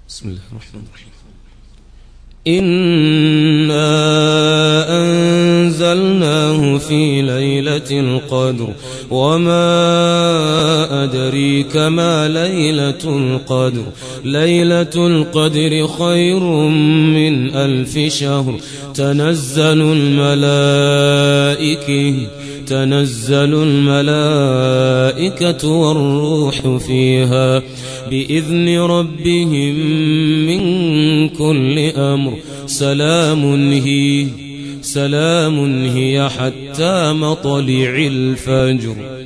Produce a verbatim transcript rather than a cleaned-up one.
بسم الله الرحمن الرحيم. إنا أنزلناه في ليلة القدر وما أدريك ما ليلة القدر ليلة القدر خير من ألف شهر تنزل الملائكة تنزل الملائكة والروح فيها بإذن ربهم من كل أمر سلام هي سلام هي حتى مطلع الفجر.